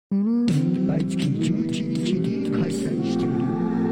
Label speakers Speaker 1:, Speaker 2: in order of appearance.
Speaker 1: 毎月11日に開催している